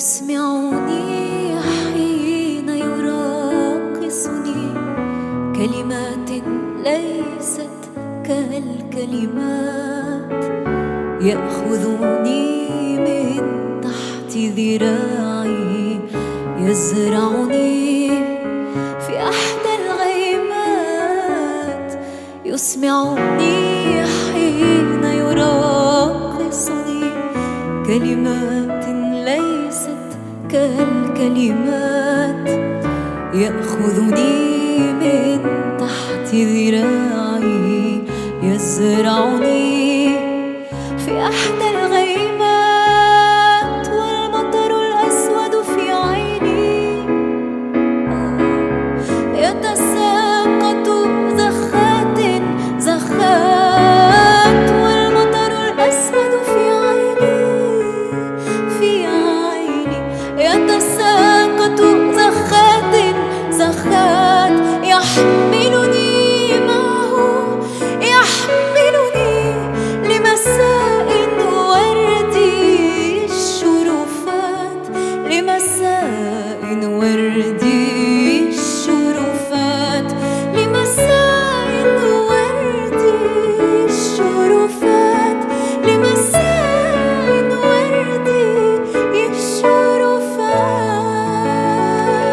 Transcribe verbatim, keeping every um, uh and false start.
يسمعني حين يراقصني كلمات ليست كالكلمات، يأخذني من تحت ذراعي، يزرعني في أحدى الغيمات. يسمعني حين يراقصني كلمات ليست كالكلمات، يأخذني من تحت ذراعي، يزرعني في أحدى الغيمات.